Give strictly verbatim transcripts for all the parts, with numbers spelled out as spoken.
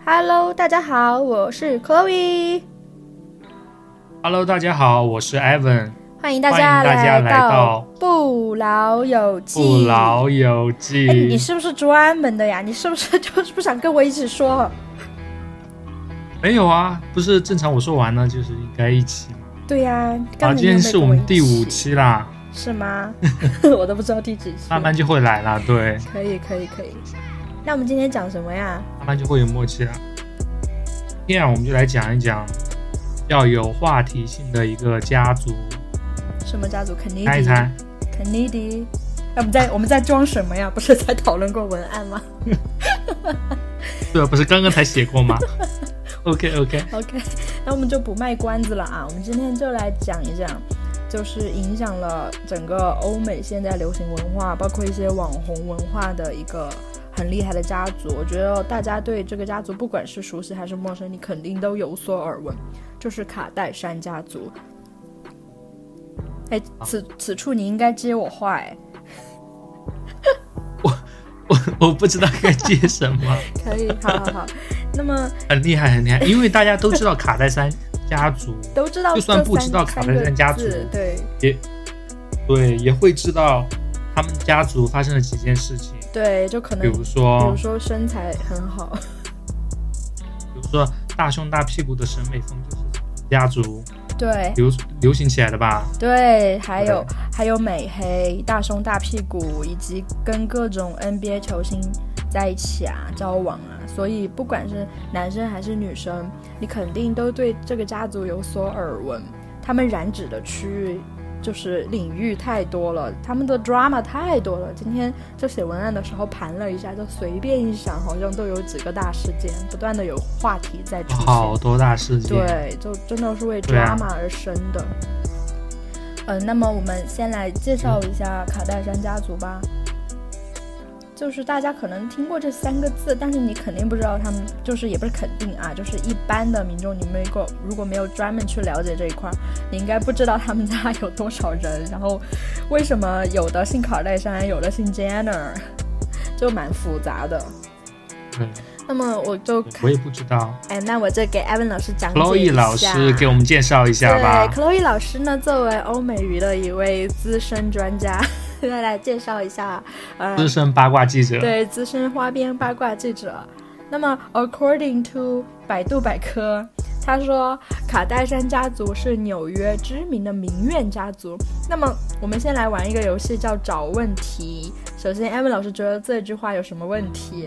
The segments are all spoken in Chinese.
Hello， 大家好，我是 Chloe。Hello， 大家好，我是 Evan。 欢迎大家来到不老友记。 不老友记， 哎，你是不是专门的呀？你是不是就是不想跟我一起说？ 没有啊，不是正常我说完了就是应该一起吗？ 对呀、啊， 啊，今天是我们第五期啦。 是吗？我都不知道第几期。 慢慢就会来啦，对。 可以可以可以。那我们今天讲什么呀？ 慢慢就会有默契啦。今天我们就来讲一讲要有话题性的一个家族。 什么家族？肯尼迪。 猜一猜。 肯尼迪。我们在我们在装什么呀？不是才讨论过文案吗？ 对啊，不是刚刚才写过吗？OK OK OK， 那我们就不卖关子了啊！我们今天就来讲一讲，就是影响了整个欧美现在流行文化，包括一些网红文化的一个很厉害的家族。我觉得大家对这个家族不管是熟悉还是陌生，你肯定都有所耳闻，就是卡戴珊家族。哎，此此处你应该接我话哎。 我我我不知道该接什么。 可以，好好好。那么很厉害很厉害，因为大家都知道卡戴珊家族， 都知道， 就算不知道卡戴珊家族， 对， 也对也会知道他们家族发生了几件事情。 对，就可能比如说， 比如说身材很好， 比如说大胸大屁股的审美风就是家族对流流行起来的吧？ 对，还有还有美黑、大胸大屁股，以及跟各种 N B A 球星在一起啊，交往啊，所以不管是男生还是女生，你肯定都对这个家族有所耳闻。他们染指的区域就是领域太多了，他们的 drama 太多了。今天就写文案的时候盘了一下，就随便一想，好像都有几个大事件，不断的有话题在出现， 好多大事件， 对，就真的是为 drama 而生的。嗯、呃，那么我们先来介绍一下卡戴珊家族吧。就是大家可能听过这三个字，但是你肯定不知道他们，就是也不是肯定啊，就是一般的民众，你没有如果没有专门去了解这一块，你应该不知道他们家有多少人，然后为什么有的姓卡戴珊，有的姓 Jenner， 就蛮复杂的。 嗯， 那么我就我也不知道， 哎，那我就给 Evan 老师讲解一下。 Chloe 老师给我们介绍一下吧。 对 ，Chloe 老师呢，作为欧美娱的一位资深专家。再来介绍一下，呃， 资深八卦记者， 对，资深花边八卦记者。那么 ，according to 百度百科，他说卡戴珊家族是纽约知名的名媛家族。那么，我们先来玩一个游戏，叫找问题。首先 ，Evan 老师觉得这句话有什么问题？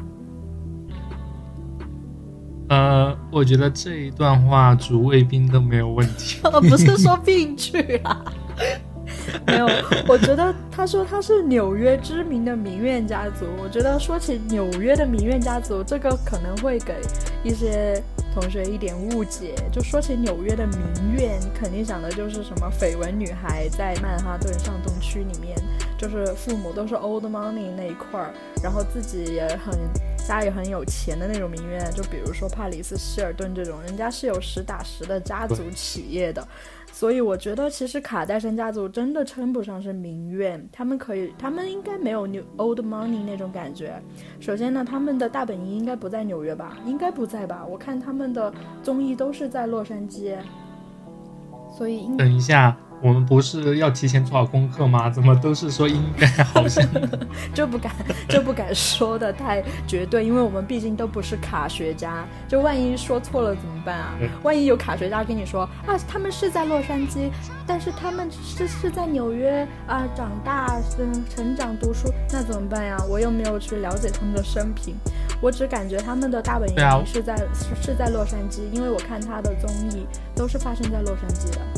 呃，我觉得这一段话主谓宾都没有问题。 不是说病句啊。没有，我觉得他说他是纽约知名的名媛家族。我觉得说起纽约的名媛家族，这个可能会给一些同学一点误解。就说起纽约的名媛，你肯定想的就是什么绯闻女孩在曼哈顿上东区里面，就是父母都是 old money 那一块儿，然后自己也很家里很有钱的那种名媛。就比如说帕里斯希尔顿这种，人家是有实打实的家族企业的。所以我觉得其实卡戴珊家族真的称不上是名媛，他们可以，他们应该没有 New Old Money 那种感觉。首先呢，他们的大本营应该不在纽约吧？应该不在吧？我看他们的综艺都是在洛杉矶，所以应等一下，我们不是要提前做好功课吗？怎么都是说应该好像就不敢就不敢说的太绝对，因为我们毕竟都不是卡学家，就万一说错了怎么办啊？万一有卡学家跟你说啊，他们是在洛杉矶，但是他们是是在纽约啊长大、嗯成长、读书，那怎么办呀？我又没有去了解他们的生平，我只感觉他们的大本营是在、啊、是, 是在洛杉矶，因为我看他的综艺都是发生在洛杉矶的。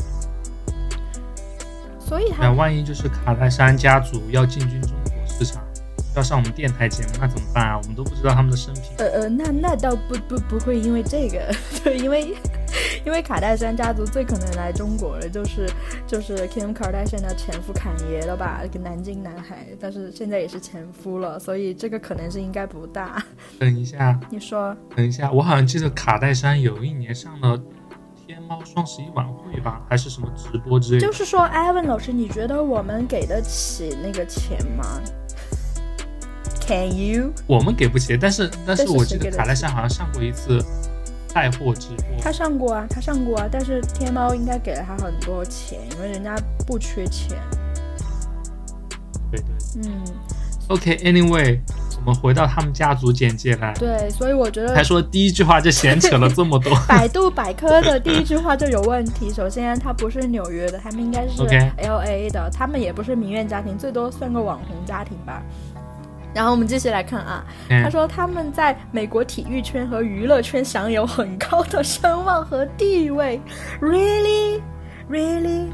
所以他万一就是卡戴珊家族要进军中国市场，要上我们电台节目，那怎么办啊？我们都不知道他们的生平。 呃呃，那那倒不不不会因为这个，对，因为因为卡戴珊家族最可能来中国的就是就是 Kim Kardashian 的前夫坎爷了吧，一个南京男孩，但是现在也是前夫了，所以这个可能性应该不大。 等一下， 你说？ 等一下，我好像记得卡戴珊有一年上了天猫双十一晚会吧，还是什么直播之类的。 就是说 Evan 老师，你觉得我们给得起那个钱吗？ Can you？ 我们给不起，但是但是我记得卡戴珊好像上过一次带货直播。 他上过啊，他上过啊，但是天猫应该给了他很多钱，因为人家不缺钱。 对对， 嗯。 OK，Anyway，、okay, 我们回到他们家族简介来。 对，所以我觉得还说第一句话就闲扯了这么多。 百度百科的第一句话就有问题。首先，他不是纽约的，他们应该是 L A 的， okay. 他们也不是名媛家庭，最多算个网红家庭吧。然后我们继续来看啊，他说他们在美国体育圈和娱乐圈享有很高的声望和地位。Really, really.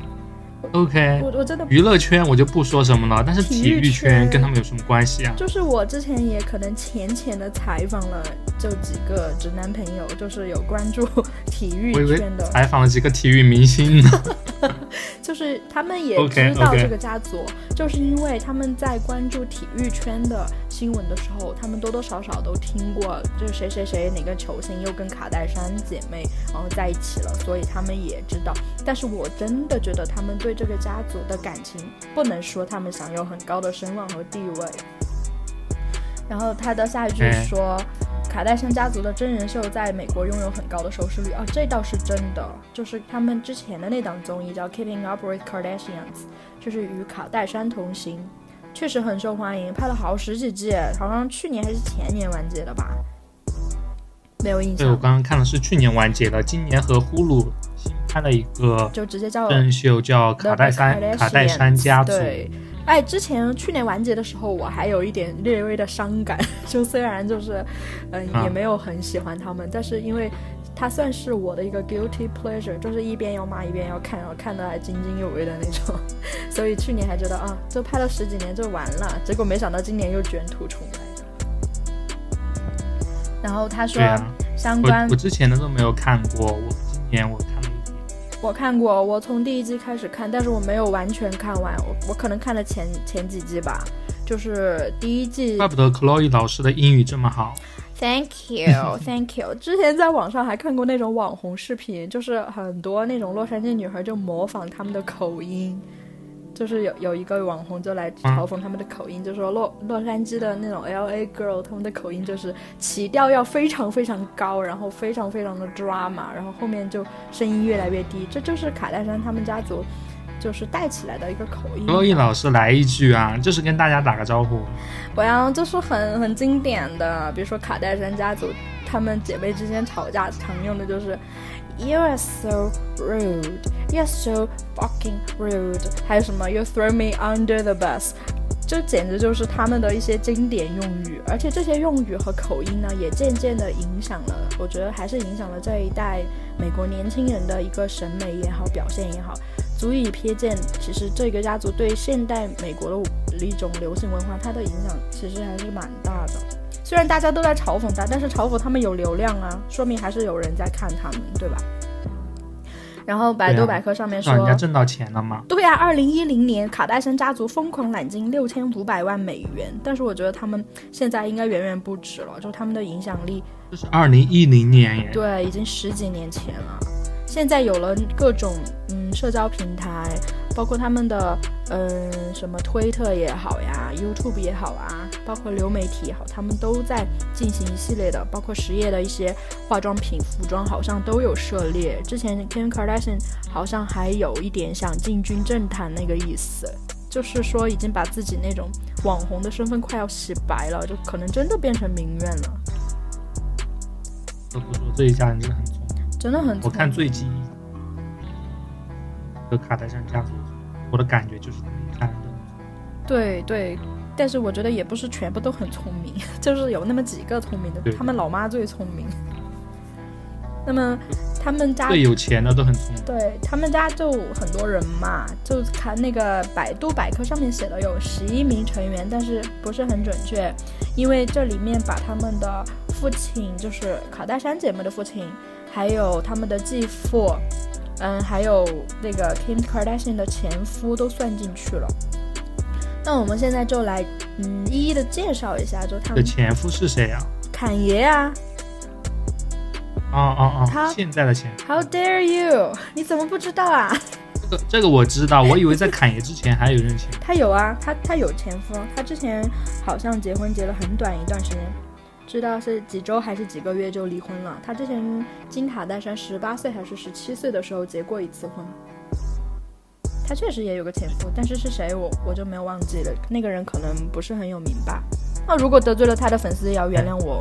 OK， 我我真的娱乐圈我就不说什么了，但是体育圈跟他们有什么关系啊？ 就是我之前也可能浅浅的采访了就几个直男朋友，就是有关注体育圈的， 采访了几个体育明星呢。 就是他们也知道这个家族， okay, okay. 就是因为他们在关注体育圈的新闻的时候，他们多多少少都听过，就是谁谁谁哪个球星又跟卡戴珊姐妹然后在一起了，所以他们也知道。但是我真的觉得他们对这个家族的感情不能说他们享有很高的声望和地位。然后他的下一句说、哎、卡戴珊家族的真人秀在美国拥有很高的收视率啊，这倒是真的。就是他们之前的那档综艺叫 Keeping Up with Kardashians， 就是与卡戴珊同行，确实很受欢迎，拍了好十几季，好像去年还是前年完结的吧，没有印象。 对，我刚刚看的是去年完结的，今年和呼噜新拍了一个就直接叫真人秀叫卡戴珊卡戴珊家族。 对，哎，之前去年完结的时候，我还有一点略微的伤感，就虽然就是，嗯、呃，也没有很喜欢他们、啊，但是因为它算是我的一个 guilty pleasure， 就是一边要骂一边要看，然后看得还津津有味的那种，所以去年还觉得啊，就拍了十几年就完了，结果没想到今年又卷土重来。然后他说， 啊、 相关我, 我之前的都没有看过，我今年我看了。 我看过，我从第一季开始看，但是我没有完全看完，我我可能看了前前几季吧，就是第一季。 怪不得 Chloe 老师的英语这么好。 Thank you, thank you 。之前在网上还看过那种网红视频，就是很多那种洛杉矶女孩就模仿他们的口音。就是有有一个网红就来嘲讽他们的口音、嗯、就说洛洛杉矶的那种 L A girl 他们的口音就是起调要非常非常高，然后非常非常的 drama， 然后后面就声音越来越低，这就是卡戴珊他们家族就是带起来的一个口音。 洛伊老师来一句啊，就是跟大家打个招呼。 我要就是很很经典的，比如说卡戴珊家族他们姐妹之间吵架常用的就是You are so rude. You are so fucking rude. 还有什么 You throw me under the bus. 这简直就是他们的一些经典用语，而且这些用语和口音呢，也渐渐的影响了，我觉得还是影响了这一代美国年轻人的一个审美也好，表现也好，足以瞥见其实这个家族对现代美国的一种流行文化，它的影响其实还是蛮大的。虽然大家都在嘲讽他，但是嘲讽他们有流量啊，说明还是有人在看他们，对吧？然后百度百科上面说， 人家挣到钱了吗？ 对啊，二零一零年卡戴珊家族疯狂揽金六千五百万美元，但是我觉得他们现在应该远远不止了，就他们的影响力。 这是二零一零年耶。 对，已经十几年前了。现在有了各种嗯社交平台，包括他们的嗯什么推特也好呀 YouTube 也好啊，包括流媒体也好，他们都在进行一系列的，包括实业的一些化妆品服装好像都有涉猎。之前 Kim Kardashian 好像还有一点想进军政坛那个意思，就是说已经把自己那种网红的身份快要洗白了，就可能真的变成名媛了。 不不说这一家人真的很聪明， 真的很聪明。 我看最近的卡戴珊家族，我的感觉就是他们一家人都很聪明。 对对，但是我觉得也不是全部都很聪明，就是有那么几个聪明的，他们老妈最聪明。那么他们家最有钱的都很聪明。 对，他们家就很多人嘛，就看那个百度百科上面写的有十一名成员，但是不是很准确，因为这里面把他们的父亲，就是卡戴珊姐妹的父亲，还有他们的继父，嗯，还有那个 Kim Kardashian 的前夫都算进去了。那我们现在就来嗯一一的介绍一下，就他们的前夫是谁啊？ 侃爷啊。 哦哦哦，现在的前夫。 How dare you， 你怎么不知道啊？ 这个这个我知道，我以为在侃爷之前还有人前夫。 他有啊，他他有前夫，他之前好像结婚结了很短一段时间，知道是几周还是几个月就离婚了。他之前金卡戴珊十八岁还是十七岁的时候结过一次婚。他确实也有个前夫，但是是谁我我就没有忘记了，那个人可能不是很有名吧。那如果得罪了他的粉丝，也要原谅我。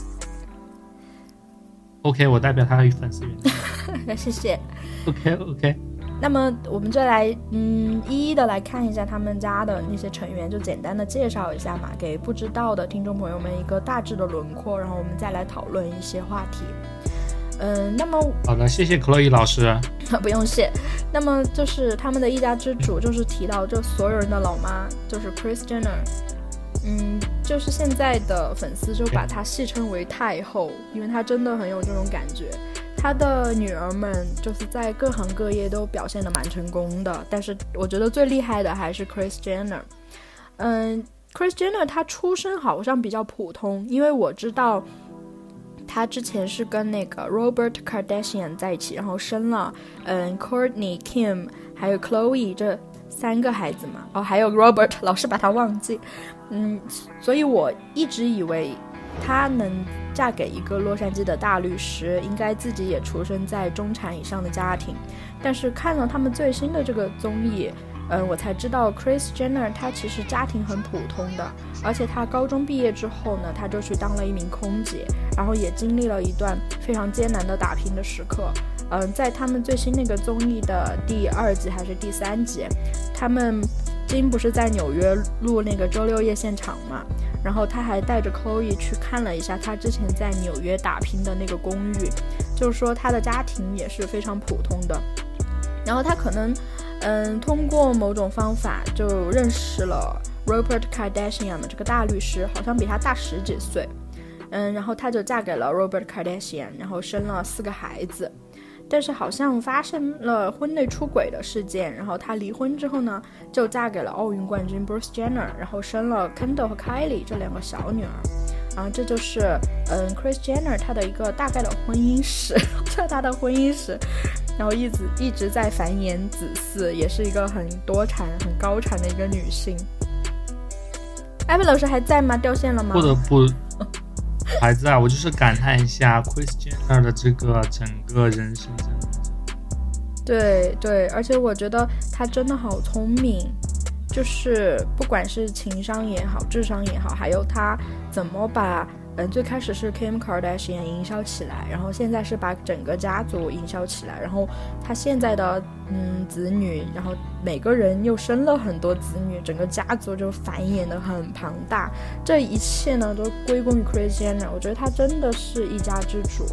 OK， 我代表他的粉丝原谅。 谢谢。 OK OK。 那么我们就来嗯一一的来看一下他们家的那些成员，就简单的介绍一下嘛，给不知道的听众朋友们一个大致的轮廓，然后我们再来讨论一些话题。嗯，那么好的，谢谢克洛伊老师。 不用谢。那么就是他们的一家之主，就是提到就所有人的老妈，就是 Kris Jenner。嗯，就是现在的粉丝就把她戏称为太后，因为她真的很有这种感觉。她的女儿们就是在各行各业都表现得蛮成功的，但是我觉得最厉害的还是 Kris Jenner。嗯 ，Kris Jenner 她出身好像比较普通，因为我知道他之前是跟那个 Robert Kardashian 在一起，然后生了嗯 Kourtney Kim 还有 Chloe 这三个孩子嘛，哦还有 Robert 老是把他忘记，嗯，所以我一直以为她能嫁给一个洛杉矶的大律师，应该自己也出生在中产以上的家庭，但是看了他们最新的这个综艺，嗯，我才知道 Kris Jenner 她其实家庭很普通的，而且她高中毕业之后呢，她就去当了一名空姐，然后也经历了一段非常艰难的打拼的时刻。嗯，在他们最新那个综艺的第二集还是第三集，他们金不是在纽约录那个周六夜现场嘛，然后他还带着 Chloe 去看了一下他之前在纽约打拼的那个公寓，就是说他的家庭也是非常普通的，然后他可能嗯，通过某种方法就认识了 Robert Kardashian 这个大律师，好像比他大十几岁，嗯，然后他就嫁给了 Robert Kardashian， 然后生了四个孩子，但是好像发生了婚内出轨的事件，然后他离婚之后呢，就嫁给了奥运冠军 Bruce Jenner， 然后生了 Kendall 和 Kylie 这两个小女儿。然后这就是嗯 Kris Jenner 她的一个大概的婚姻史，这她的婚姻史，然后一直一直在繁衍子嗣，也是一个很多产很高产的一个女性。艾文老师还在吗？掉线了吗？ 不得不还在，我就是感叹一下 Kris Jenner 的这个整个人生真的。 对对，而且我觉得她真的好聪明，就是不管是情商也好，智商也好，还有她怎么把嗯最开始是 Kim Kardashian 营销起来，然后现在是把整个家族营销起来，然后她现在的嗯子女，然后每个人又生了很多子女，整个家族就繁衍的很庞大，这一切呢都归功于 Kris Jenner， 我觉得她真的是一家之主。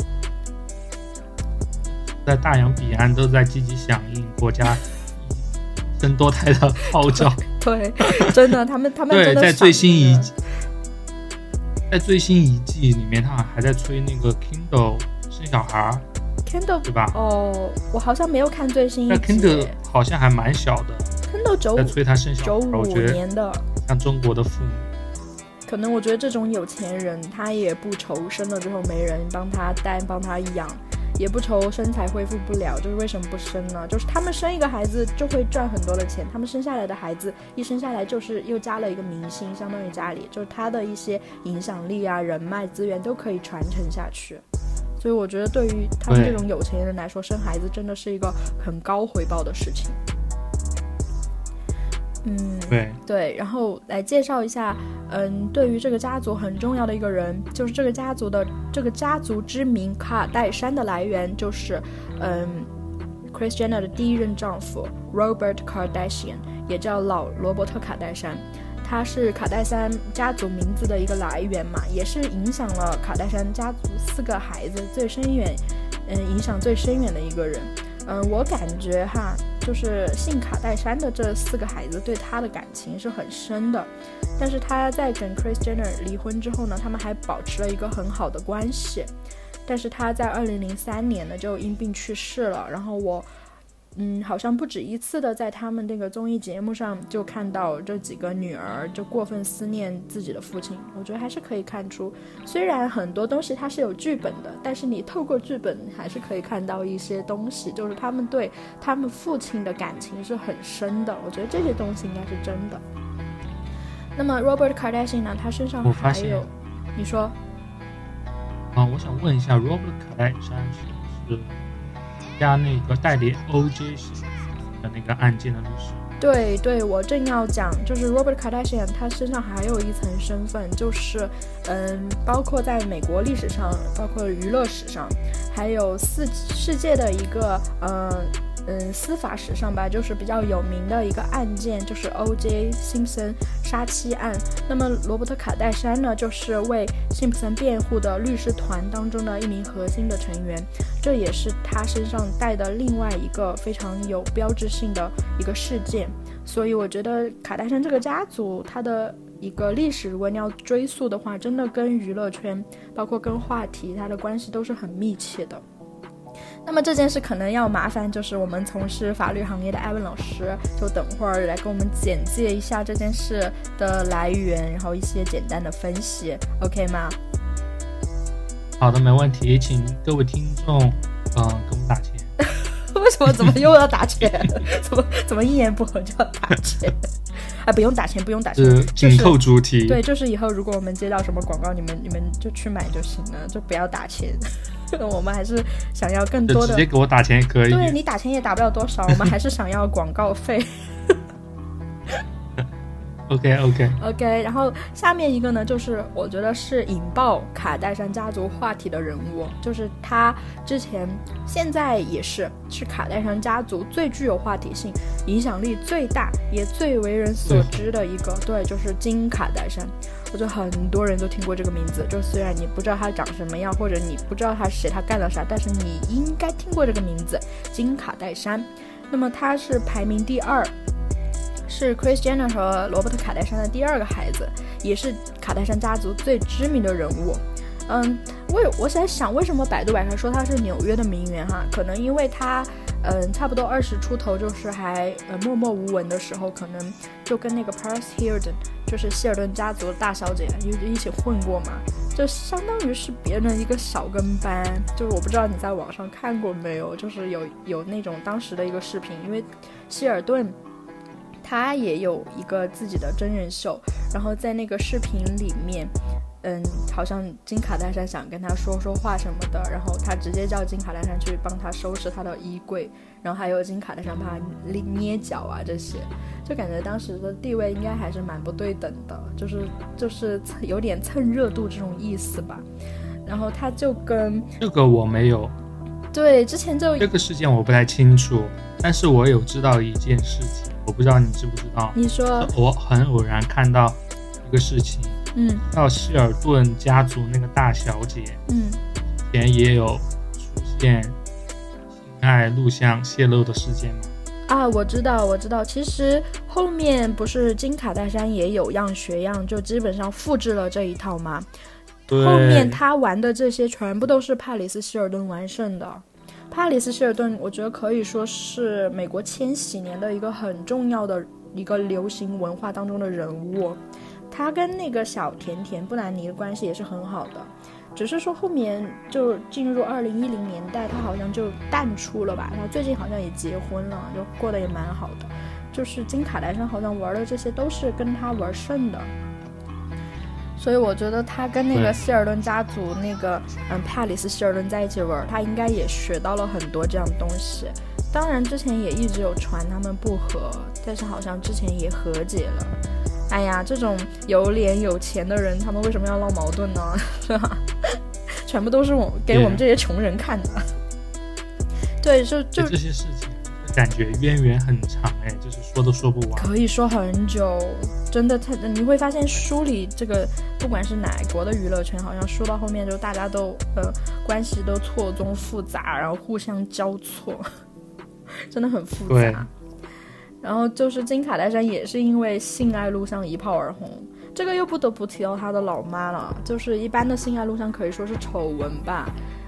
在大洋彼岸都在积极响应国家生多胎的号召。 对，真的，他们他们真的对，在最新一季，在最新一季里面，他好像还在催那个 Kendall 生小孩 ，Kendall 对吧？ 哦，我好像没有看最新一集。 那 Kendall 好像还蛮小的 ，Kendall 九五在催他生小孩， 九五年的， 像中国的父母。 可能我觉得这种有钱人，他也不愁生了之后没人帮他带、帮他养。也不愁身材恢复不了，就是为什么不生呢？就是他们生一个孩子就会赚很多的钱，他们生下来的孩子一生下来就是又加了一个明星，相当于家里就是他的一些影响力啊、人脉资源都可以传承下去。所以我觉得对于他们这种有钱人来说，生孩子真的是一个很高回报的事情。嗯， 对对，然后来介绍一下，嗯，对于这个家族很重要的一个人，就是这个家族的这个家族之名卡戴珊的来源，就是嗯 Kris Jenner 的第一任丈夫 Robert Kardashian， 也叫老罗伯特卡戴珊，他是卡戴珊家族名字的一个来源嘛，也是影响了卡戴珊家族四个孩子最深远，嗯，影响最深远的一个人。嗯，我感觉哈，就是姓卡戴珊的这四个孩子对他的感情是很深的，但是他在跟 Kris Jenner 离婚之后呢，他们还保持了一个很好的关系，但是他在二零零三年呢就因病去世了，然后我嗯，好像不止一次的在他们那个综艺节目上就看到这几个女儿就过分思念自己的父亲。我觉得还是可以看出，虽然很多东西它是有剧本的，但是你透过剧本还是可以看到一些东西，就是他们对他们父亲的感情是很深的。我觉得这些东西应该是真的。那么 Robert Kardashian 呢，他身上还有，你说啊，我想问一下 Robert Kardashian 是不是加那个代理 O J 的那个案件的律师？ 对对，我正要讲，就是 Robert Kardashian 他身上还有一层身份，就是嗯，包括在美国历史上，包括娱乐史上，还有世世界的一个呃嗯司法史上吧，就是比较有名的一个案件，就是 O J 辛普森杀妻案。那么罗伯特卡戴珊呢，就是为辛普森辩护的律师团当中的一名核心的成员，这也是他身上带的另外一个非常有标志性的一个事件。所以我觉得卡戴珊这个家族，它的一个历史，如果你要追溯的话，真的跟娱乐圈，包括跟话题，它的关系都是很密切的。那么这件事可能要麻烦就是我们从事法律行业的艾文老师，就等会儿来给我们简介一下这件事的来源，然后一些简单的分析 OK 吗？ 好的，没问题，请各位听众嗯给我们打钱。 为什么怎么又要打钱？怎么怎么一言不合就要打钱？啊，不用打钱，不用打钱， 是紧扣主题、就是。 对，就是以后如果我们接到什么广告，你们你们就去买就行了，就不要打钱。我们还是想要更多的， 直接给我打钱也可以。 对，你打钱也打不了多少，我们还是想要广告费。 OK OK OK， 然后下面一个呢，就是我觉得是引爆卡戴珊家族话题的人物，就是他之前现在也是是卡戴珊家族最具有话题性、影响力最大也最为人所知的一个，对，就是金卡戴珊。我觉得很多人都听过这个名字，就虽然你不知道他长什么样，或者你不知道他是谁，他干了啥，但是你应该听过这个名字，金卡戴珊。那么他是排名第二，是 Kris Jenner 和罗伯特卡戴珊的第二个孩子，也是卡戴珊家族最知名的人物。嗯，我我在想为什么百度百科说他是纽约的名媛哈，可能因为他嗯差不多二十出头，就是还呃默默无闻的时候，可能就跟那个 Paris Hilton， 就是希尔顿家族的大小姐一起混过嘛，就相当于是别人的一个小跟班。就是我不知道你在网上看过没有，就是有有那种当时的一个视频，因为希尔顿他也有一个自己的真人秀，然后在那个视频里面嗯，好像金卡戴珊想跟他说说话什么的，然后他直接叫金卡戴珊去帮他收拾他的衣柜，然后还有金卡戴珊帮他捏脚啊，这些就感觉当时的地位应该还是蛮不对等的，就是就是有点蹭热度这种意思吧。然后他就跟这个我没有， 对，之前就这个事件我不太清楚，但是我有知道一件事情，我不知道你知不知道。 你说。 我很偶然看到一个事情， 嗯， 到希尔顿家族那个大小姐， 嗯， 以前也有出现性爱录像泄露的事件吗？ 啊，我知道，我知道。其实后面不是金卡戴珊也有样学样，就基本上复制了这一套吗？后面他玩的这些全部都是帕里斯希尔顿完胜的。帕里斯希尔顿，我觉得可以说是美国千禧年的一个很重要的一个流行文化当中的人物。他跟那个小甜甜布兰妮的关系也是很好的，只是说后面就进入二零一零年代，他好像就淡出了吧。他最近好像也结婚了，就过得也蛮好的。就是金卡戴珊好像玩的这些都是跟他玩胜的，所以我觉得他跟那个希尔顿家族那个嗯帕里斯希尔顿在一起玩，他应该也学到了很多这样的东西。当然之前也一直有传他们不和，但是好像之前也和解了。哎呀，这种有脸有钱的人，他们为什么要闹矛盾呢？是吧？全部都是我给我们这些穷人看的。对，就就这些事情，感觉渊源很长哎，就是说都说不完， 可以说很久。真的，他你会发现书里这个不管是哪国的娱乐圈，好像说到后面就大家都呃关系都错综复杂，然后互相交错，真的很复杂。然后就是金卡戴珊也是因为性爱录像一炮而红，这个又不得不提到他的老妈了。就是一般的性爱录像可以说是丑闻吧，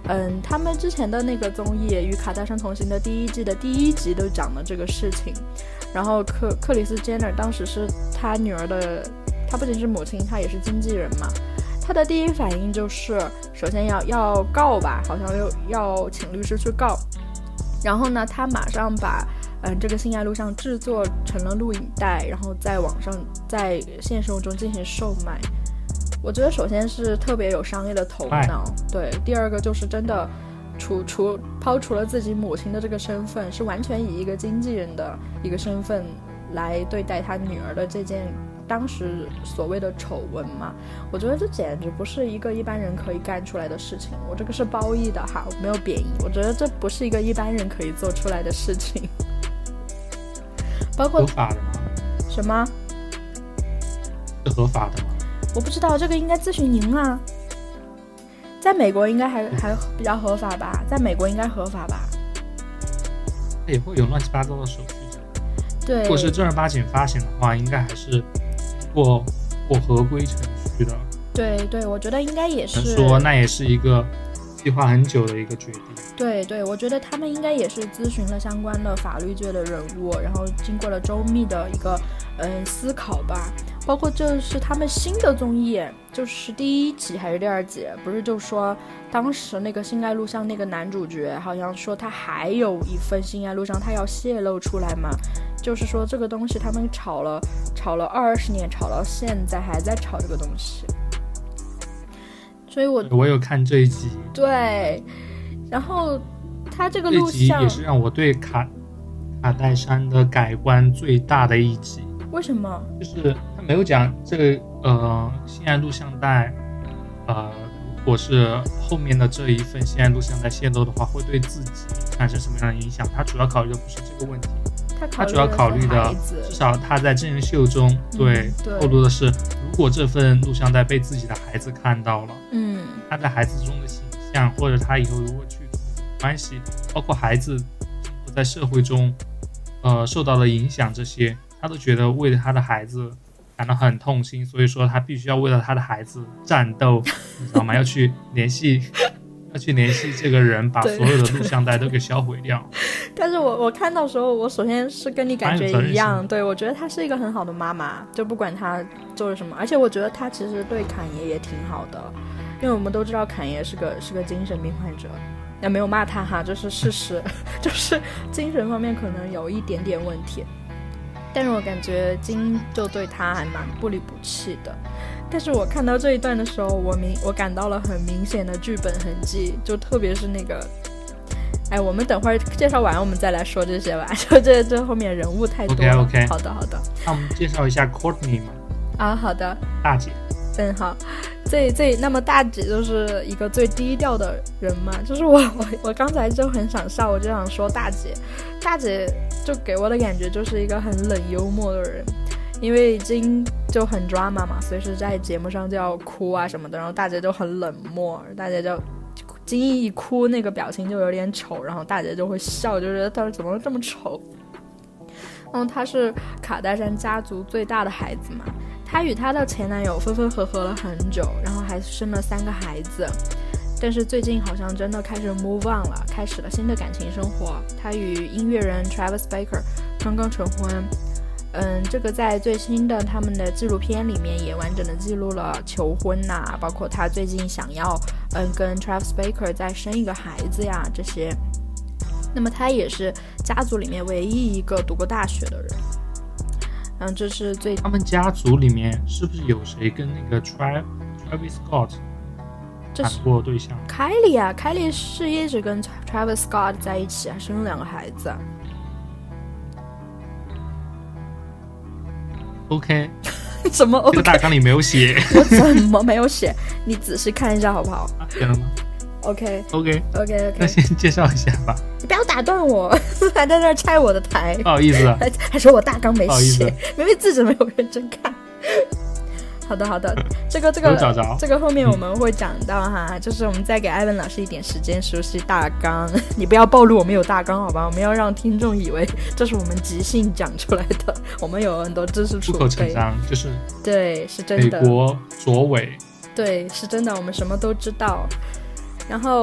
嗯，他们之前的那个综艺《与卡戴珊同行》的第一季的第一集都讲了这个事情。然后克克里斯·Jenner当时是他女儿的，他不仅是母亲，他也是经纪人嘛。他的第一反应就是，首先要要告吧，好像要要请律师去告。然后呢，他马上把嗯这个性爱录像制作成了录影带，然后在网上在现实中进行售卖。我觉得首先是特别有商业的头脑，对。第二个就是真的除除抛除了自己母亲的这个身份，是完全以一个经纪人的一个身份来对待他女儿的这件当时所谓的丑闻嘛。我觉得这简直不是一个一般人可以干出来的事情。我这个是褒义的哈，我没有贬义。我觉得这不是一个一般人可以做出来的事情。包括合法的吗？ 什么？ 是合法的吗？ 我不知道，这个应该咨询您啊。在美国应该还还比较合法吧？在美国应该合法吧？ 也会有乱七八糟的手续。 对， 如果是正儿八经发行的话，应该还是经过过合规程序的。 对对，我觉得应该也是。 说那也是一个计划很久的一个决定。 对对，我觉得他们应该也是咨询了相关的法律界的人物，然后经过了周密的一个嗯思考吧。包括就是他们新的综艺，就是第一集还是第二集，不是就说当时那个性爱录像那个男主角好像说他还有一份性爱录像他要泄露出来嘛，就是说这个东西他们吵了吵了二十年，吵到现在还在吵这个东西。所以我我有看这一集， 对，然后他这个录像这集也是让我对卡卡戴珊的改观最大的一集。 为什么？ 就是他没有讲这个呃性爱录像带，呃，如果是后面的这一份性爱录像带泄露的话，会对自己产生什么样的影响？他主要考虑的不是这个问题， 他, 他主要考虑的，至少他在真人秀中、嗯、对, 对透露的是，如果这份录像带被自己的孩子看到了， 嗯， 他在孩子中的形象，或者他以后如果去关系，包括孩子在社会中，呃，受到的影响这些。他都觉得为了他的孩子感到很痛心，所以说他必须要为了他的孩子战斗，你知道吗？要去联系，要去联系这个人，把所有的录像带都给销毁掉。 但是我我看到时候，我首先是跟你感觉一样，对，我觉得她是一个很好的妈妈，就不管她做了什么，而且我觉得她其实对侃爷也挺好的，因为我们都知道侃爷是个是个精神病患者，也没有骂他哈，这是事实，就是精神方面可能有一点点问题。但是我感觉金就对他还蛮不离不弃的，但是我看到这一段的时候，我明我感到了很明显的剧本痕迹，就特别是那个，哎，我们等会儿介绍完我们再来说这些吧，就这这后面人物太多了。 OK OK， 好的好的。 那我们介绍一下 Courtney 嘛。 啊，好的。 大姐。 嗯，好。这这那么大姐就是一个最低调的人嘛，就是我我我刚才就很想笑，我就想说大姐，大姐就给我的感觉就是一个很冷幽默的人，因为金就很 drama 嘛，所以是在节目上就要哭啊什么的，然后大姐就很冷漠，大姐就金一哭那个表情就有点丑，然后大姐就会笑，就觉得她怎么这么丑。然后她是卡戴珊家族最大的孩子嘛，她与她的前男友分分合合了很久，然后还生了三个孩子，但是最近好像真的开始 move on 了，开始了新的感情生活。她与音乐人 Travis Barker 刚刚成婚，嗯，这个在最新的他们的纪录片里面也完整的记录了求婚呐、啊，包括她最近想要嗯跟 Travis Barker 再生一个孩子呀这些。那么他也是家族里面唯一一个读过大学的人。嗯，这是最他们家族里面是不是有谁跟那个 Travis Scott 谈过对象？ 凯莉啊，凯莉是一直跟 Travis Scott 在一起，还生了两个孩子。 OK， 什么 OK？ 这个大纲里没有写。 我怎么没有写？你仔细看一下好不好？ 啊，写了吗 ？OK OK OK OK， 那先介绍一下吧。 你不要打断我，还在那儿拆我的台。 不好意思， 还还说我大纲没写，明明自己没有认真看。好的好的，这个这个找找这个后面我们会讲到哈、嗯，就是我们再给艾文老师一点时间熟悉大纲。你不要暴露我们有大纲好吧？我们要让听众以为这是我们即兴讲出来的，我们有很多知识储备。 出口成章，就是对，是真的。 美国左尾， 对，是真的，我们什么都知道。然后，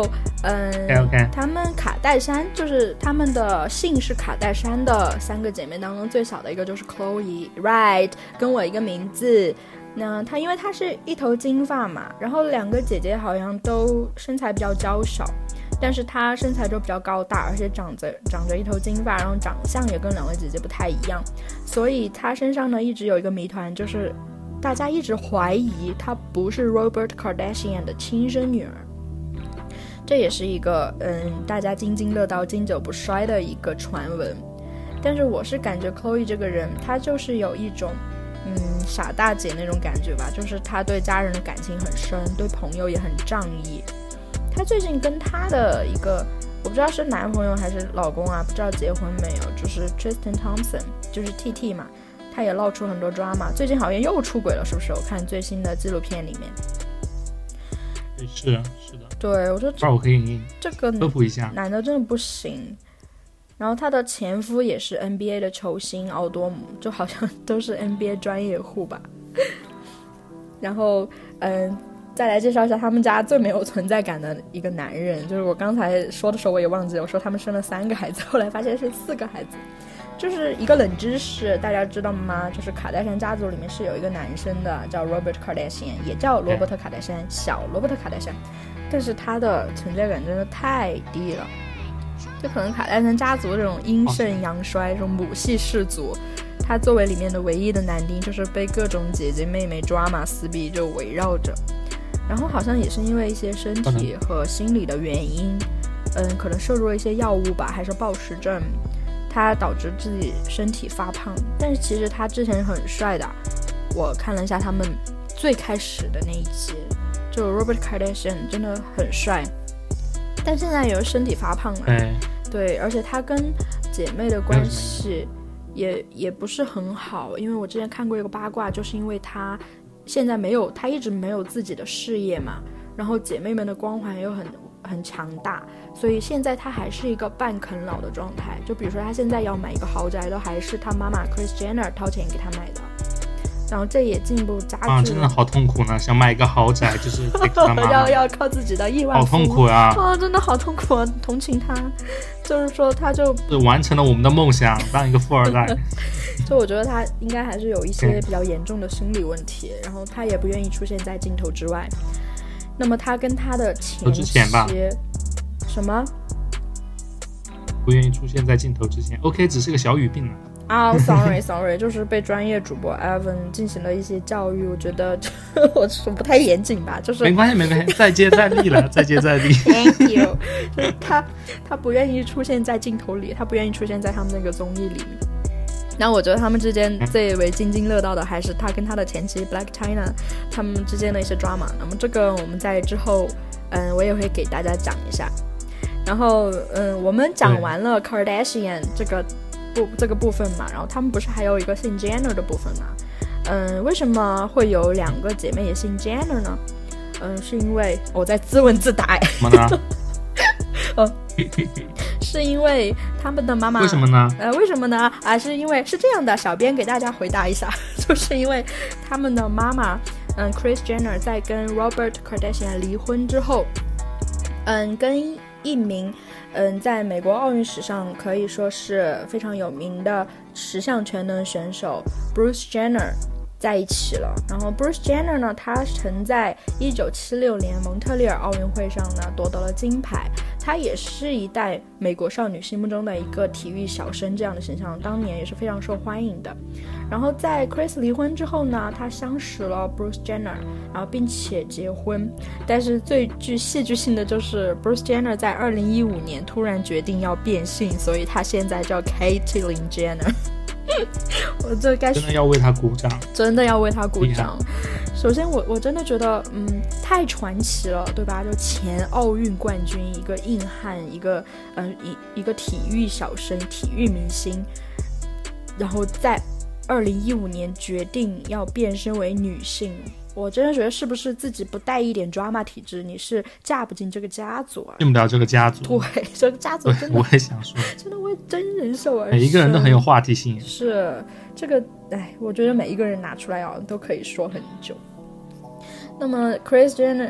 嗯 ，OK OK， 他们卡戴珊就是他们的姓是卡戴珊的三个姐妹当中最小的一个就是 Chloe Right， 跟我一个名字。那她因为她是一头金发嘛，然后两个姐姐好像都身材比较娇小，但是她身材就比较高大，而且长着长着一头金发，然后长相也跟两位姐姐不太一样，所以她身上呢一直有一个谜团，就是大家一直怀疑她不是 Robert Kardashian 的亲生女儿。这也是一个嗯，大家津津乐道、经久不衰的一个传闻。但是我是感觉 Chloe 这个人，她就是有一种嗯傻大姐那种感觉吧，就是她对家人的感情很深，对朋友也很仗义。她最近跟她的一个我不知道是男朋友还是老公啊，不知道结婚没有，就是 Tristan Thompson， 就是 T T 嘛，他也闹出很多 drama， 最近好像又出轨了，是不是？我看最新的纪录片里面。 是是的， 对，我说这我可以这个科普一下， 男的真的不行。然后他的前夫也是 N B A 的球星奥多姆，就好像都是 N B A 专业户吧。然后嗯，再来介绍一下他们家最没有存在感的一个男人，就是我刚才说的时候我也忘记了，我说他们生了三个孩子，后来发现是四个孩子。就是一个冷知识，大家知道吗？就是卡戴珊家族里面是有一个男生的，叫 Robert Kardashian， 也叫罗伯特卡戴珊，小罗伯特卡戴珊，但是他的存在感真的太低了。就可能卡戴珊家族这种阴盛阳衰，这种母系氏族，他作为里面的唯一的男丁，就是被各种姐姐妹妹 drama 撕逼就围绕着。然后好像也是因为一些身体和心理的原因，嗯，可能摄入了一些药物吧，还是暴食症。他导致自己身体发胖，但是其实他之前很帅的。我看了一下他们最开始的那一期，就 Robert Kardashian 真的很帅，但现在有身体发胖了。 对， 对，而且他跟姐妹的关系也也不是很好，因为我之前看过一个八卦，就是因为他现在没有，他一直没有自己的事业嘛，然后姐妹们的光环又很很强大，所以现在他还是一个半啃老的状态。就比如说他现在要买一个豪宅，都还是他妈妈 Kris Jenner 掏钱给他买的，然后这也进一步加剧了。 啊，真的好痛苦呢！想买一个豪宅，就是给他妈妈要要靠自己的亿万富，好痛苦啊！ 啊，真的好痛苦啊！同情他，就是说他就完成了我们的梦想，当一个富二代。 就我觉得他应该还是有一些比较严重的心理问题，然后他也不愿意出现在镜头之外。那么他跟他的前妻什么不愿意出现在镜头之前 OK 只是个小语病了啊、oh, sorry sorry 就是被专业主播 Evan 进行了一些教育，我觉得我说不太严谨吧，就是没关系没关系，再接再厉了再接再厉 Thank you 就是他他不愿意出现在镜头里，他不愿意出现在他们那个综艺里面。然后我觉得他们之间最为津津乐道的还是他跟他的前妻 Blac Chyna 他们之间的一些 drama， 那么这个我们在之后嗯，我也会给大家讲一下。然后嗯，我们讲完了 Kardashian 这个部这个部分嘛，然后他们不是还有一个姓 Jenner 的部分嘛？嗯，为什么会有两个姐妹也姓 Jenner 呢？嗯，是因为我在自问自答。 什么呢？ 哦，是因为他们的妈妈为什么呢？ 呃，为什么呢？啊，是因为是这样的，小编给大家回答一下，就是因为他们的妈妈，嗯 ，Kris Jenner 在跟 Robert Kardashian 离婚之后，嗯，跟一名嗯，在美国奥运史上可以说是非常有名的十项全能选手 Bruce Jenner 在一起了。然后 Bruce Jenner 呢，他曾在一九七六年蒙特利尔奥运会上呢夺得了金牌，他也是一代美国少女心目中的一个体育小生这样的形象，当年也是非常受欢迎的。然后在 Kris 离婚之后呢，他相识了 Bruce Jenner， 然后并且结婚。但是最具戏剧性的就是 Bruce Jenner 在二零一五年突然决定要变性，所以他现在叫 Caitlyn Jenner。我这该真的要为他鼓掌， 真的要为他鼓掌。首先我我真的觉得嗯太传奇了，对吧？就前奥运冠军，一个硬汉，一个呃一一个体育小生，体育明星，然后在二零一五年决定要变身为女性。我真的觉得是不是自己不带一点 drama 体质，你是嫁不进这个家族啊， 进不了这个家族。 对，这个家族真的， 我也想说， 真的为真人秀而生， 每一个人都很有话题性。 是这个，哎，我觉得每一个人拿出来啊，都可以说很久。那么 Kris Jenner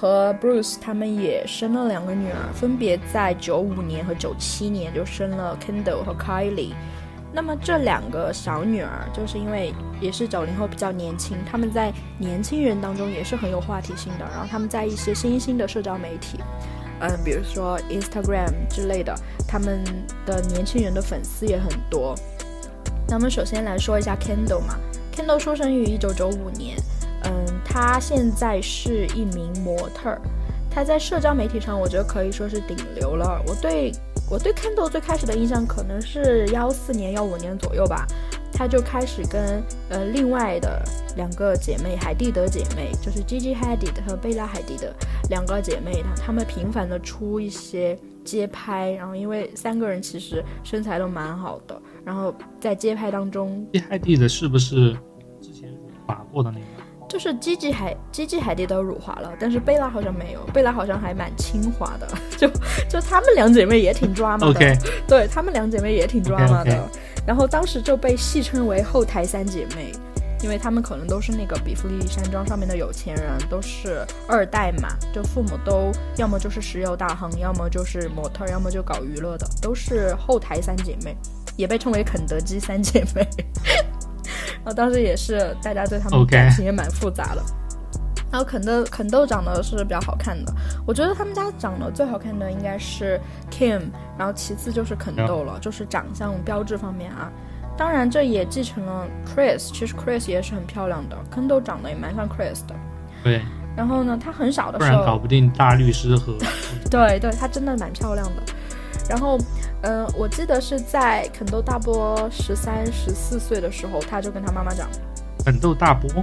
和 Bruce 他们也生了两个女儿，分别在九五年和九七年就生了 Kendall 和 Kylie。那么这两个小女儿就是因为也是九零后比较年轻，他们在年轻人当中也是很有话题性的，然后他们在一些新兴的社交媒体嗯，比如说 Instagram 之类的，他们的年轻人的粉丝也很多。那么首先来说一下 Kendall 嘛 Kendall 出生于一九九五年，嗯，他现在是一名模特，他在社交媒体上我觉得可以说是顶流了。我对我对 Kendall 最开始的印象可能是一四年一五年左右吧，他就开始跟呃另外的两个姐妹海蒂德姐妹，就是 Gigi Hadid 和贝拉海蒂德两个姐妹，她们频繁的出一些街拍，然后因为三个人其实身材都蛮好的，然后在街拍当中 Gigi Hadid 是不是之前辱华过的那个？ 就是 Gigi 海 Gigi 海蒂德辱华了，但是贝拉好像没有，贝拉好像还蛮清华的，就就她们两姐妹也挺抓马的 ，okay. 对，她们两姐妹也挺抓马的 okay, okay. 然后当时就被戏称为后台三姐妹，因为她们可能都是那个比弗利山庄上面的有钱人，都是二代嘛，就父母都要么就是石油大亨，要么就是模特，要么就搞娱乐的，都是后台三姐妹，也被称为肯德基三姐妹然后当时也是大家对他们感情也蛮复杂的、okay. 然后肯豆肯豆长得是比较好看的，我觉得他们家长得最好看的应该是 Kim， 然后其次就是肯豆了、yeah. 就是长相标志方面啊，当然这也继承了 Chris， 其实 Chris 也是很漂亮的，肯豆长得也蛮像 Chris 的， 对， 然后呢他很小的时候不然搞不定大律师和对对，他真的蛮漂亮的。然后嗯、呃，我记得是在肯豆大波十三十四岁的时候，他就跟他妈妈讲， 肯豆大波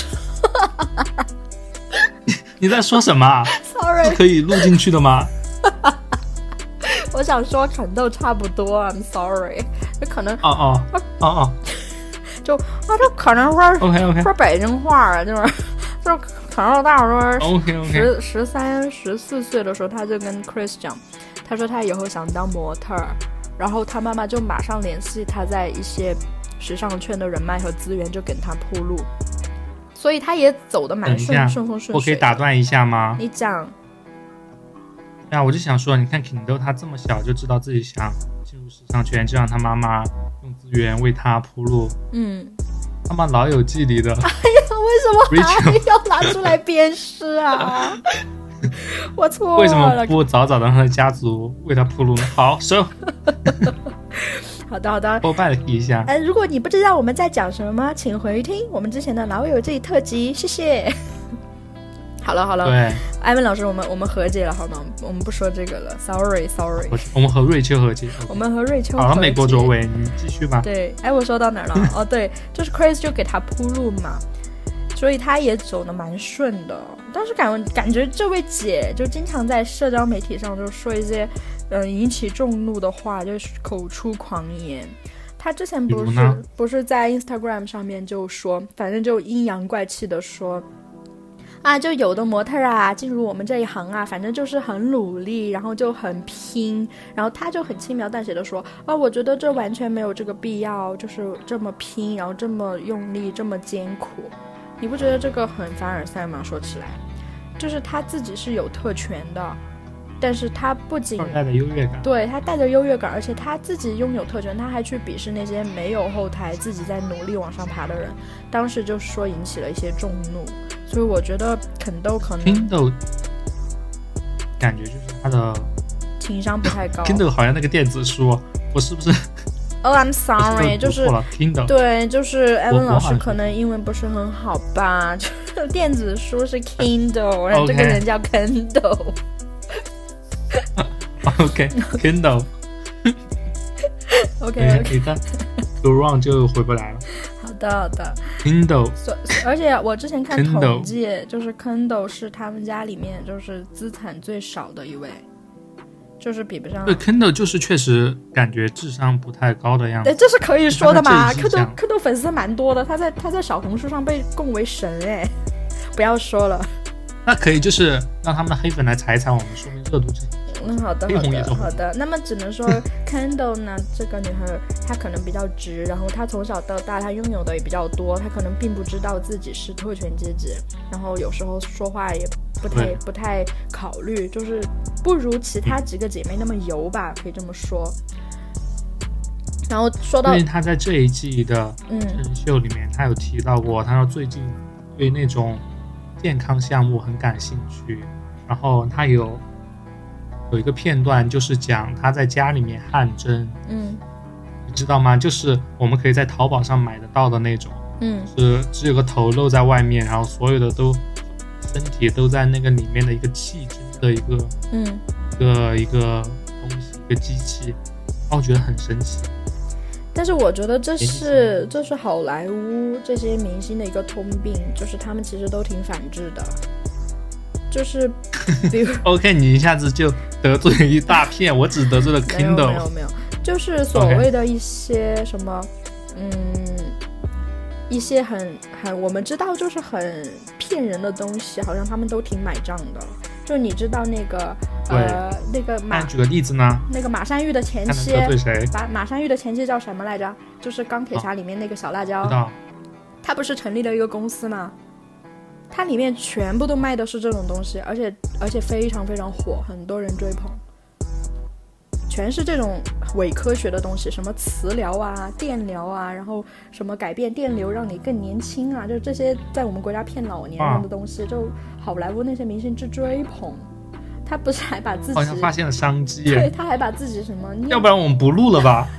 你在说什么 ？Sorry， 是可以录进去的吗？ 我想说肯豆差不多 ，I'm sorry， 就可能哦哦哦哦， 就啊，就可能说 OK OK 说北京话啊，就是就是肯豆大说 OK OK 十十三十四岁的时候，他就跟 Chris 讲。他说他以后想当模特，然后他妈妈就马上联系他在一些时尚圈的人脉和资源，就给他铺路，所以他也走得蛮顺顺风顺水。 我可以打断一下吗？ 你讲。 呀、啊，我就想说，你看 Kendall 他这么小就知道自己想进入时尚圈，就让他妈妈用资源为他铺路。 嗯， 他妈老友记里的。哎呀， 为什么还要拿出来鞭尸啊？我错了， 为什么不早早的让他的家族为他铺路呢？好，收。 好的好的， 我拜了一下。 哎，如果你不知道我们在讲什么，请回听我们之前的老友记特辑，谢谢。好了好了， 对， 艾文老师，我们我们和解了好吗？我们不说这个了 ，sorry sorry。 我们和瑞秋和解， okay. 我们和瑞秋和解。 好了，美国卓伟，你继续吧。 对，哎，我说到哪儿了？哦，对，就是 Chris 就给他铺路嘛。所以他也走得蛮顺的，但是感感觉这位姐就经常在社交媒体上就说一些嗯、呃、引起众怒的话，就是口出狂言。他之前不是不是在 Instagram 上面就说，反正就阴阳怪气的说啊，就有的模特啊进入我们这一行啊，反正就是很努力，然后就很拼，然后他就很轻描淡写的说啊，我觉得这完全没有这个必要，就是这么拼，然后这么用力，这么艰苦。你不觉得这个很凡尔赛吗？说起来就是他自己是有特权的，但是他不仅带着优越感， 对，他带着优越感，而且他自己拥有特权，他还去鄙视那些没有后台自己在努力往上爬的人，当时就说引起了一些众怒。所以我觉得肯豆可能 Kendall 感觉就是他的情商不太高。 Kendall 好像那个电子书，我是不是 Oh, I'm sorry， 就是 Kindle 对，就是 Evan 老师可能英文不是很好吧？就是电子书是 Kindle， 然后这个人叫 Kendall。 OK Kindle。 OK OK。 一旦 go wrong 就回不来了。 好的好的。 Kindle。 而且我之前看统计，就是 Kindle 是他们家里面就是资产最少的一位。就是比不上， 对 Kendall 就是确实感觉智商不太高的样子。 对，这是可以说的嘛。Kendall Kendall 粉丝蛮多的，他在他在小红书上被供为神哎，不要说了。 那可以就是让他们的黑粉来踩一踩我们，说明热度值。 嗯，好的好的好的。那么只能说 Kendall 呢，这个女孩她可能比较直，然后她从小到大她拥有的也比较多，她可能并不知道自己是特权阶级，然后有时候说话也不太不太考虑，就是不如其他几个姐妹那么油吧，可以这么说。然后说到， 因为他在这一季的真人秀里面，嗯、他有提到过，他说最近对那种健康项目很感兴趣。然后他有有一个片段，就是讲他在家里面汗蒸， 嗯， 你知道吗？就是我们可以在淘宝上买得到的那种， 嗯， 是只有个头露在外面，然后所有的都身体都在那个里面的一个气蒸的一个， 嗯， 一个一个东西，一个机器，然后我觉得很神奇。 但是我觉得这是这是好莱坞这些明星的一个通病，就是他们其实都挺反智的，就是比如 OK 你一下子就得罪了一大片，我只得罪了 Kindle。 没有没有没有，就是所谓的一些什么、okay. 嗯一些很很我们知道就是很骗人的东西，好像他们都挺买账的。就你知道那个呃那个马， 举个例子呢？ 那个马山玉的前妻， 得罪谁？ 马马山玉的前妻叫什么来着？就是钢铁侠里面那个小辣椒。 知道。 他不是成立了一个公司吗？它里面全部都卖的是这种东西，而且而且非常非常火，很多人追捧。全是这种伪科学的东西，什么磁疗啊、电疗啊，然后什么改变电流让你更年轻啊，就这些在我们国家骗老年人的东西，就好莱坞那些明星之追捧。他不是还把自己好像发现了商机， 对，他还把自己什么， 要不然我们不录了吧？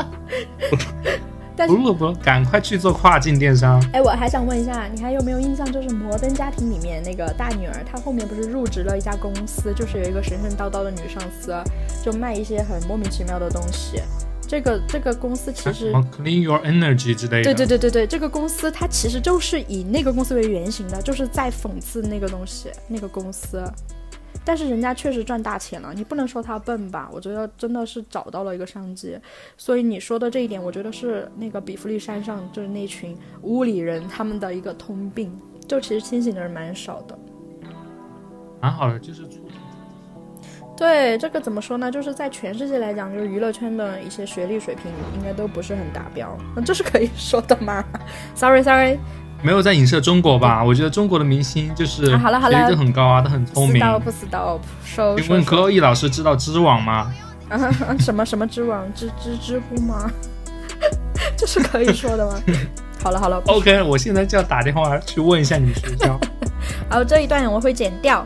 不录了不录，赶快去做跨境电商。 哎，我还想问一下，你还有没有印象？就是《摩登家庭》里面那个大女儿，她后面不是入职了一家公司，就是有一个神神叨叨的女上司，就卖一些很莫名其妙的东西。这个这个公司其实、 啊、Clean Your Energy 之类的。 对对对对对，这个公司它其实就是以那个公司为原型的，就是在讽刺那个东西，那个公司。但是人家确实赚大钱了，你不能说他笨吧，我觉得真的是找到了一个商机。所以你说的这一点，我觉得是那个比弗利山上就是那群屋里人他们的一个通病，就其实清醒的人蛮少的。 蛮好的，就是促进。 对，这个怎么说呢，就是在全世界来讲，就是娱乐圈的一些学历水平应该都不是很达标，那这是可以说的吗？ sorry sorry， 没有在影射中国吧？我觉得中国的明星就是学历都很高啊，都很聪明。 不 stop stop。 请问 Chloe 老师知道知网吗？ 啊，什么什么知网？知知知乎吗？这是可以说的吗？好了好了 ，OK， 我现在就要打电话去问一下你们学校。 好，这一段我会剪掉。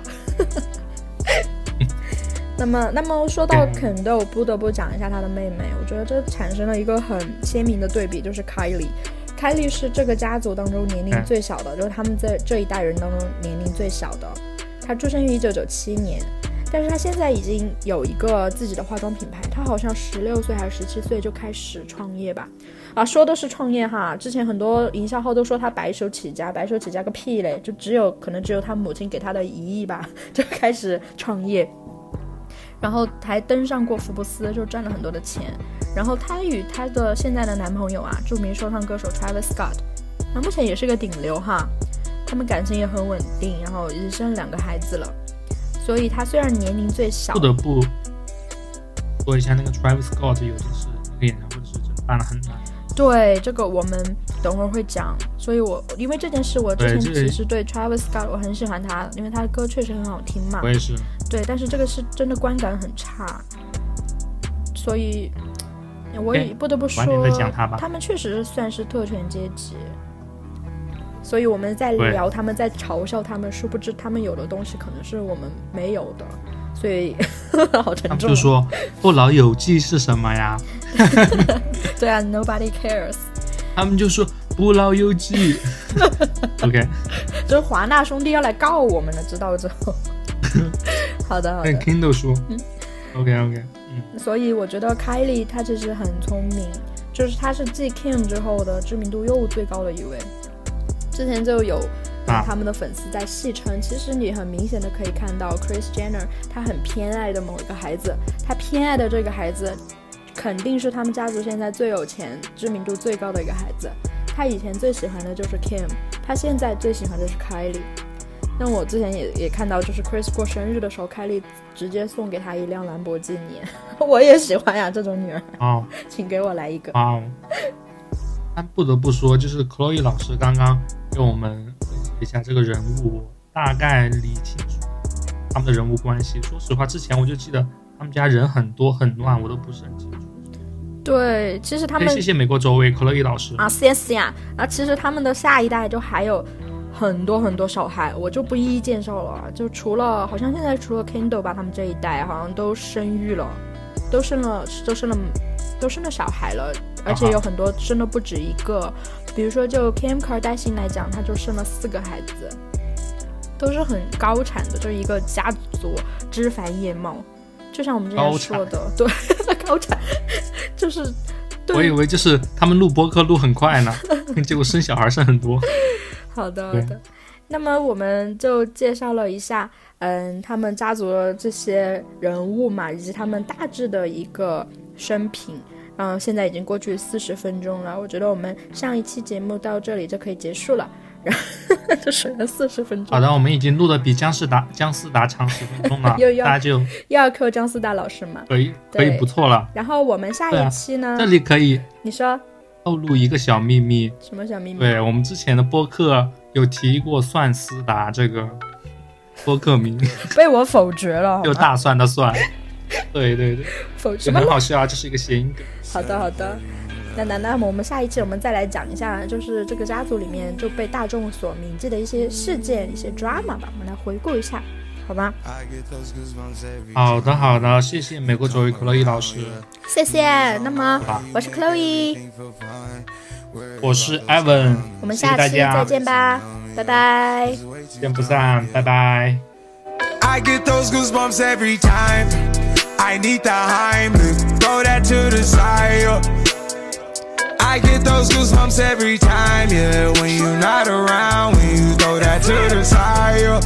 那么，那么说到肯豆，不得不讲一下她的妹妹。我觉得这产生了一个很鲜明的对比，就是 Kylie。Kylie 是这个家族当中年龄最小的，就是他们在这一代人当中年龄最小的。她出生于一九九七年，但是她现在已经有一个自己的化妆品牌。她好像十六岁还是十七岁就开始创业吧？啊，说的是创业哈。之前很多营销号都说她白手起家，白手起家个屁嘞！就只有可能只有她母亲给她的一亿吧，就开始创业。然后还登上过福布斯，就赚了很多的钱。然后她与她的现在的男朋友啊，著名说唱歌手 Travis Scott， 那目前也是个顶流哈。他们感情也很稳定，然后已生两个孩子了。所以她虽然年龄最小， 不得不说一下那个 Travis Scott 有就是那个演唱会是真的办了很难。 对，这个我们等会儿会讲。所以我因为这件事，我之前其实对 Travis Scott 我很喜欢他，因为他的歌确实很好听嘛。 我也是。对， 但是这个是真的观感很差，所以我也不得不说， 他, 他们确实算是特权阶级。所以我们在聊他们，在嘲笑他们，殊不知他们有的东西可能是我们没有的。所以好沉重。 他们就说不老有记是什么呀？ 对啊 ，Nobody cares。 他们就说不老有记。OK， 就是华纳兄弟要来告我们了，知道之后。好的好的。 跟 Kindle 说。嗯 OK OK， 嗯。所以我觉得 Kylie 她其实很聪明，就是她是继 Kim 之后的知名度又最高的一位。之前就有。啊、他们的粉丝在戏称，其实你很明显的可以看到 Kris Jenner 他很偏爱的某一个孩子，他偏爱的这个孩子肯定是他们家族现在最有钱知名度最高的一个孩子。他以前最喜欢的就是 Kim， 他现在最喜欢的是 Kylie。 那我之前也也看到，就是 Kris 过生日的时候 Kylie 直接送给他一辆兰博基尼。我也喜欢呀这种女儿。哦，请给我来一个。 哦，但不得不说，就是 Chloe 老师刚刚给我们一下这个人物大概理清楚他们的人物关系。说实话，之前我就记得他们家人很多很乱，我都不是很清楚。 对，其实他们谢谢美国周围克洛伊老师啊，谢谢啊。啊，其实他们的下一代就还有很多很多小孩，我就不一一介绍了。就除了好像现在除了 Kendall 吧，他们这一代好像都生育了，都生了，都生了，都生了小孩了，而且有很多生的不止一个。比如说就 Kim Kardashian 来讲，他就生了四个孩子，都是很高产的，就一个家族枝繁叶茂。就像我们之前说的，对，高产就是对。 我以为就是他们录播客录很快呢，结果生小孩生很多。 好的，好的。那么我们就介绍了一下，嗯，他们家族的这些人物嘛，以及他们大致的一个生平。嗯，现在已经过去四十分钟了，我觉得我们上一期节目到这里就可以结束了。然后就水了四十分钟。 好的，我们已经录的比姜思达姜思达长十分钟了，大家就又要扣姜思达老师嘛， 可以可以不错了。 然后我们下一期呢， 啊、这里可以你说透露一个小秘密。 什么小秘密？ 对，我们之前的播客有提过蒜思达这个播客名， 被我否决了， 就大蒜的蒜。对对对， 否决很好笑啊，这是一个谐音梗。 好的好的。那那那么我们下一期我们再来讲一下，就是这个家族里面就被大众所铭记的一些事件、一些 drama 吧，我们来回顾一下，好吗？ 好的好的，谢谢美国周瑜克洛伊老师， 谢谢。那么我是 Chloe， 我是 Evan， 我们下期再见吧，拜拜， 见不散，拜拜。 I get those goosebumps every time I need the Heimlich, throw that to the side. I get those goosebumps every time, yeah. When you're not around, when you throw that to the side.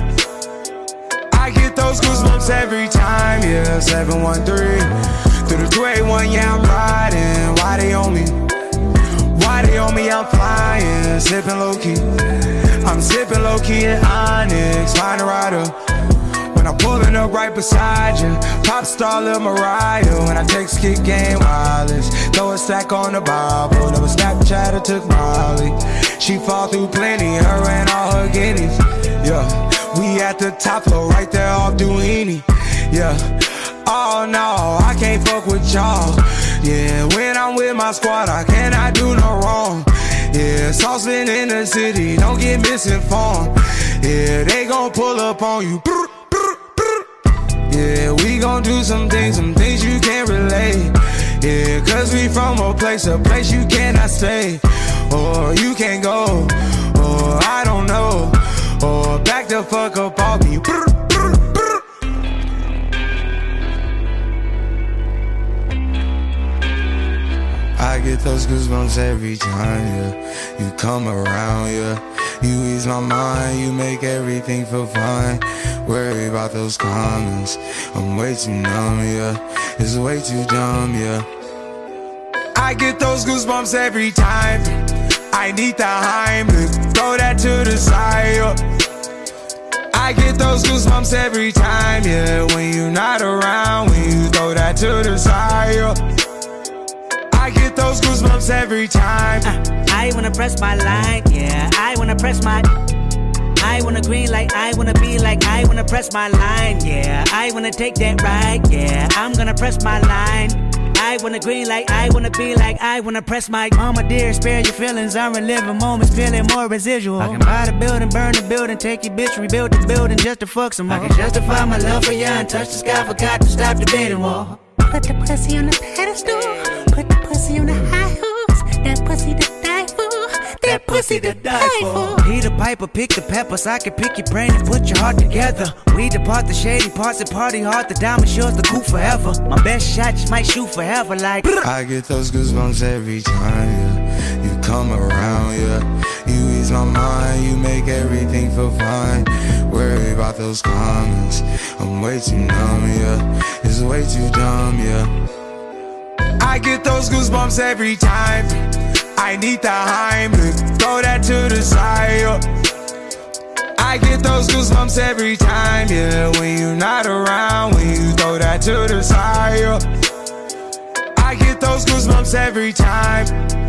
I get those goosebumps every time, yeah. seven one three through the two eight one, yeah, I'm riding. Why they on me? Why they on me? I'm flying, sipping low key. I'm sipping low key in Onyx, find a rider. When I'm pulling up right beside you, pop star Lil Mariah. When I text kick game wireless, throw a stack on the Bible. Never Snapchat or took Molly. She fall through plenty, her and all her guineas. Yeah, we at the top floor, right there off Duini. Yeah, oh no, I can't fuck with y'all. Yeah, when I'm with my squad, I cannot do no wrong. Yeah, saucepan in the city, don't get misinformed. Yeah, they gon' pull up on you. Yeah, we gon' do some things, some things you can't relate. Yeah, cause we from a place, a place you cannot stay. Or you can't go, or I don't know. Or back the fuck up off me. I get those goosebumps every time, yeah. You come around, yeah. You ease my mind, you make everything feel fine. Worry about those comments, I'm way too numb, yeah. It's way too dumb, yeah. I get those goosebumps every time I need the Heimlich, throw that to the side, yeah. I get those goosebumps every time, yeah. When you're not around, when you throw that to the side, yeah. I get those goosebumps every time. uh, I wanna press my line, yeah. I wanna press my I wanna green like I wanna be like I wanna press my line, yeah. I wanna take that ride, yeah. I'm gonna press my line. I wanna green like I wanna be like I wanna press my mama dear, spare your feelings. I'm reliving moments, feeling more residual. I can buy the building, burn the building, take your bitch, rebuild the building just to fuck some more. I can justify my love for you and touch the sky, forgot to stop the bidding war. Put the pussy on the pedestal, put the pussy on the high horse. That pussy to die for, that pussy to die for. Peter Piper, pick the peppers, I can pick your brain and put your heart together. We depart the shady parts and party hard, the diamond yours the cool forever. My best shot just might shoot forever like I get those goosebumps every time, yeah. You come around, yeah. You ease my mind, you make everything feel fine. Worry about those comments, I'm way too numb, yeah. It's way too dumb, yeah. I get those goosebumps every time I need the Heimlich, throw that to the side, yeah. I get those goosebumps every time, yeah. When you're not around, when you throw that to the side, yeah. I get those goosebumps every time.